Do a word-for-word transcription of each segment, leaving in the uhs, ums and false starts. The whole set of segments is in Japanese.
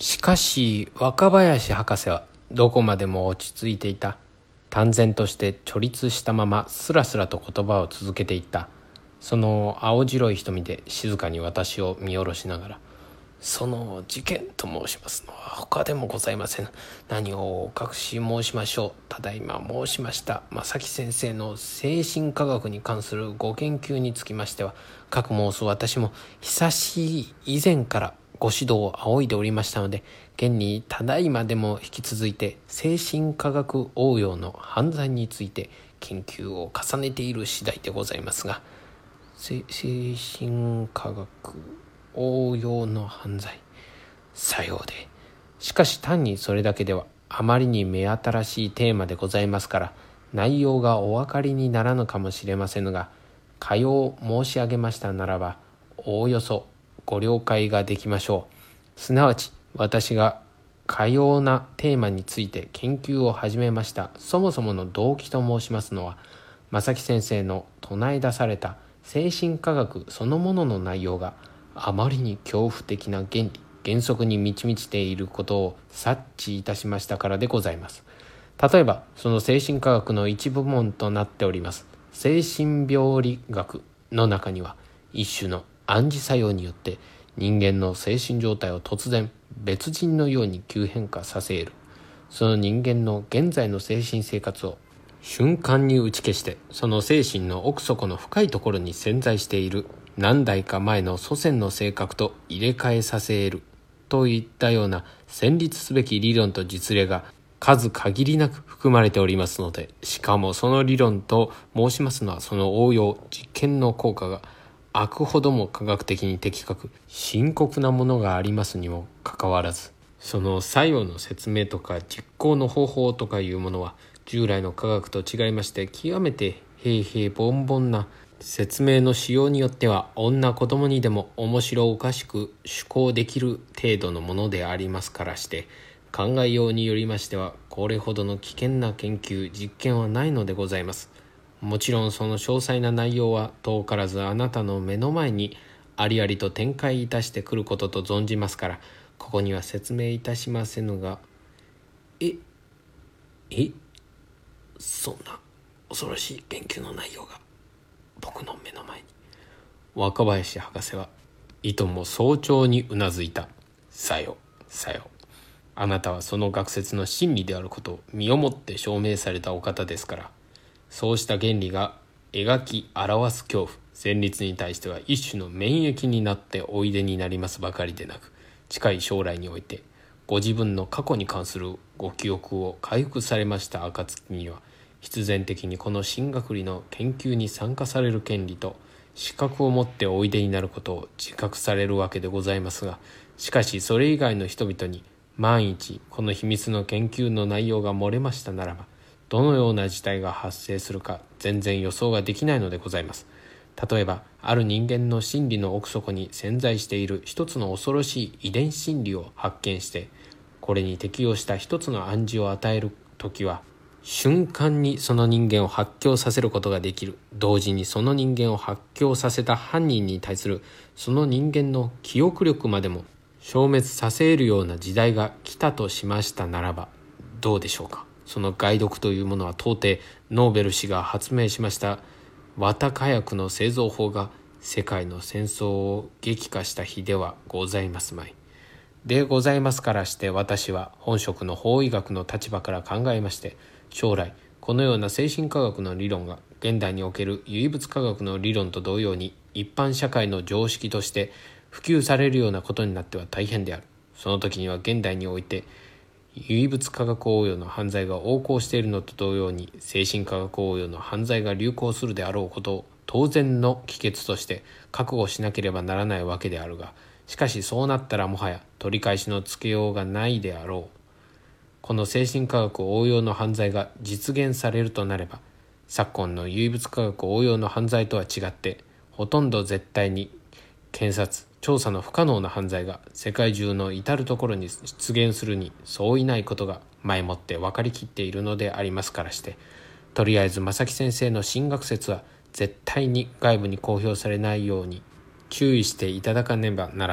しかし若林博士はどこまでも落ち着いていた。淡然として直立したままスラスラと言葉を続けていった。その青白い瞳で静かに私を見下ろしながら、その事件と申しますのは他でもございません。何をお隠し申しましょう。ただいま申しました正木先生の精神科学に関するご研究につきましては、各申す私も久しい以前からご指導を仰いでおりましたので、現にただいまでも引き続いて精神科学応用の犯罪について研究を重ねている次第でございますが、精神科学応用の犯罪、さようで。しかし単にそれだけではあまりに目新しいテーマでございますから、内容がお分かりにならぬかもしれませんが、かよう申し上げましたならばおおよそご了解ができましょう。すなわち私がかようなテーマについて研究を始めましたそもそもの動機と申しますのは、正木先生の唱え出された精神科学そのものの内容があまりに恐怖的な原理原則に満ち満ちていることを察知いたしましたからでございます。例えばその精神科学の一部門となっております精神病理学の中には、一種の暗示作用によって人間の精神状態を突然別人のように急変化させ得る、その人間の現在の精神生活を瞬間に打ち消して、その精神の奥底の深いところに潜在している何代か前の祖先の性格と入れ替えさせ得るといったような戦慄すべき理論と実例が数限りなく含まれておりますので、しかもその理論と申しますのは、その応用実験の効果があくほども科学的に的確深刻なものがありますにもかかわらず、その作用の説明とか実行の方法とかいうものは従来の科学と違いまして、極めて平々凡々な説明の仕様によっては女子供にでも面白おかしく趣向できる程度のものでありますからして、考えようによりましてはこれほどの危険な研究実験はないのでございます。もちろんその詳細な内容は遠からずあなたの目の前にありありと展開いたしてくることと存じますから、ここには説明いたしませぬが。ええそんな恐ろしい研究の内容が僕の目の前に。若林博士はいとも早朝にうなずいた。さよさよ、あなたはその学説の真理であることを身をもって証明されたお方ですから、そうした原理が描き表す恐怖旋律に対しては一種の免疫になっておいでになりますばかりでなく、近い将来においてご自分の過去に関するご記憶を回復されました暁には、必然的にこの新学理の研究に参加される権利と資格を持っておいでになることを自覚されるわけでございますが、しかしそれ以外の人々に万一この秘密の研究の内容が漏れましたならば、どのような事態が発生するか全然予想ができないのでございます。例えばある人間の心理の奥底に潜在している一つの恐ろしい遺伝子心理を発見して、これに適応した一つの暗示を与えるときは、瞬間にその人間を発狂させることができる。同時にその人間を発狂させた犯人に対するその人間の記憶力までも消滅させるような時代が来たとしましたならば、どうでしょうか。その害毒というものは到底ノーベル氏が発明しました綿火薬の製造法が世界の戦争を激化した日ではございますまい。でございますからして、私は本職の法医学の立場から考えまして、将来このような精神科学の理論が現代における唯物科学の理論と同様に一般社会の常識として普及されるようなことになっては大変である。その時には現代において唯物科学応用の犯罪が横行しているのと同様に、精神科学応用の犯罪が流行するであろうことを当然の帰結として覚悟しなければならないわけであるが、しかしそうなったらもはや取り返しのつけようがないであろう。この精神科学応用の犯罪が実現されるとなれば、昨今の唯物科学応用の犯罪とは違って、ほとんど絶対に検察調査の不可能な犯罪が世界中の至るところに出現するにそういないことが前もって分かりきっているのでありますからして、とりあえず正木先生の新学説は絶対に外部に公表されないように注意していただかねばならぬ。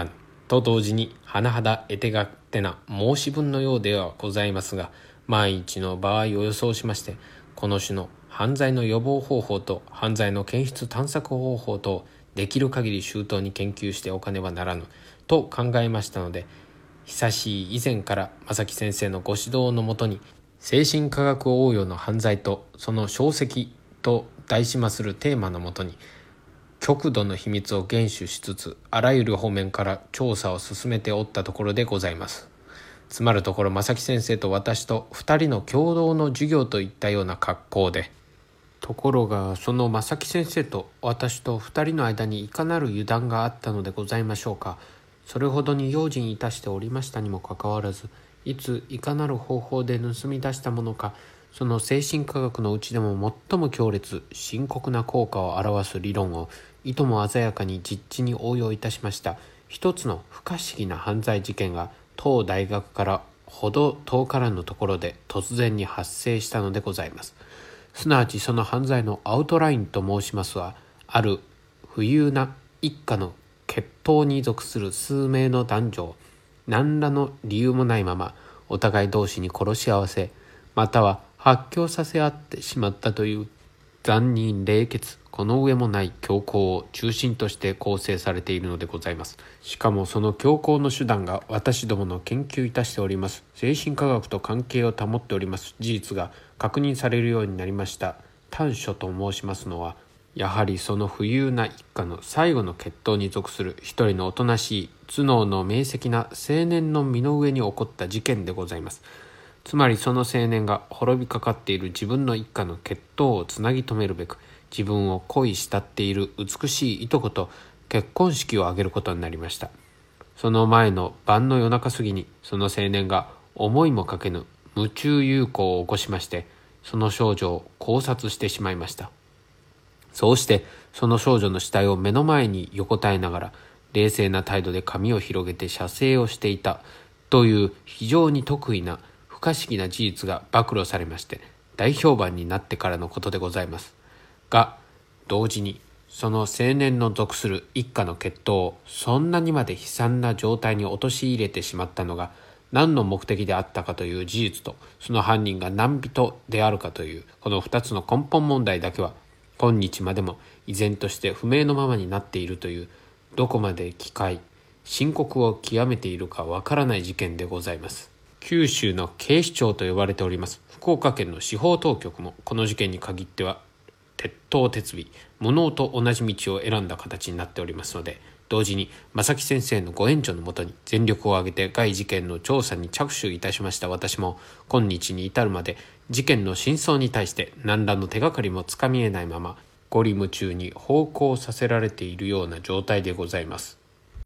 と同時に甚だ得手勝手な申し分のようではございますが、万一の場合を予想しまして、この種の犯罪の予防方法と犯罪の検出探索方法とできる限り周到に研究しておかねばならぬと考えましたので、久しい以前から正木先生のご指導のもとに、精神科学応用の犯罪とその証跡と題しまするテーマのもとに、極度の秘密を厳守しつつ、あらゆる方面から調査を進めておったところでございます。つまるところ、正木先生と私と二人の共同の授業といったような格好で、ところがその正木先生と私と二人の間にいかなる油断があったのでございましょうか。それほどに用心いたしておりましたにもかかわらず、いついかなる方法で盗み出したものか、その精神科学のうちでも最も強烈深刻な効果を表す理論をいとも鮮やかに実地に応用いたしました一つの不可思議な犯罪事件が、当大学からほど遠からぬところで突然に発生したのでございます。すなわちその犯罪のアウトラインと申しますは、ある富裕な一家の血統に属する数名の男女を何らの理由もないままお互い同士に殺し合わせ、または発狂させ合ってしまったという残忍冷血この上もない凶行を中心として構成されているのでございます。しかもその凶行の手段が、私どもの研究いたしております精神科学と関係を保っております事実が確認されるようになりました短所と申しますのは、やはりその富裕な一家の最後の血統に属する一人のおとなしい頭脳の明晰な青年の身の上に起こった事件でございます。つまりその青年が滅びかかっている自分の一家の血統をつなぎ止めるべく、自分を恋慕っている美しいいとこと結婚式を挙げることになりました。その前の晩の夜中過ぎに、その青年が思いもかけぬ夢中遊行を起こしまして、その少女を絞殺してしまいました。そうしてその少女の死体を目の前に横たえながら、冷静な態度で髪を広げて写生をしていたという非常に特異な不可思議な事実が暴露されまして、大評判になってからのことでございますが、同時にその青年の属する一家の血統をそんなにまで悲惨な状態に陥れてしまったのが何の目的であったかという事実と、その犯人が何人であるかというこの二つの根本問題だけは、今日までも依然として不明のままになっているという、どこまで奇怪深刻を極めているかわからない事件でございます。九州の警視庁と呼ばれております福岡県の司法当局も、この事件に限っては鉄頭鉄尾無能と同じ道を選んだ形になっておりますので、同時に正木先生のご援助のもとに全力を挙げて該事件の調査に着手いたしました私も、今日に至るまで事件の真相に対して何らの手がかりもつかみえないまま、ゴリ夢中に奉公させられているような状態でございます。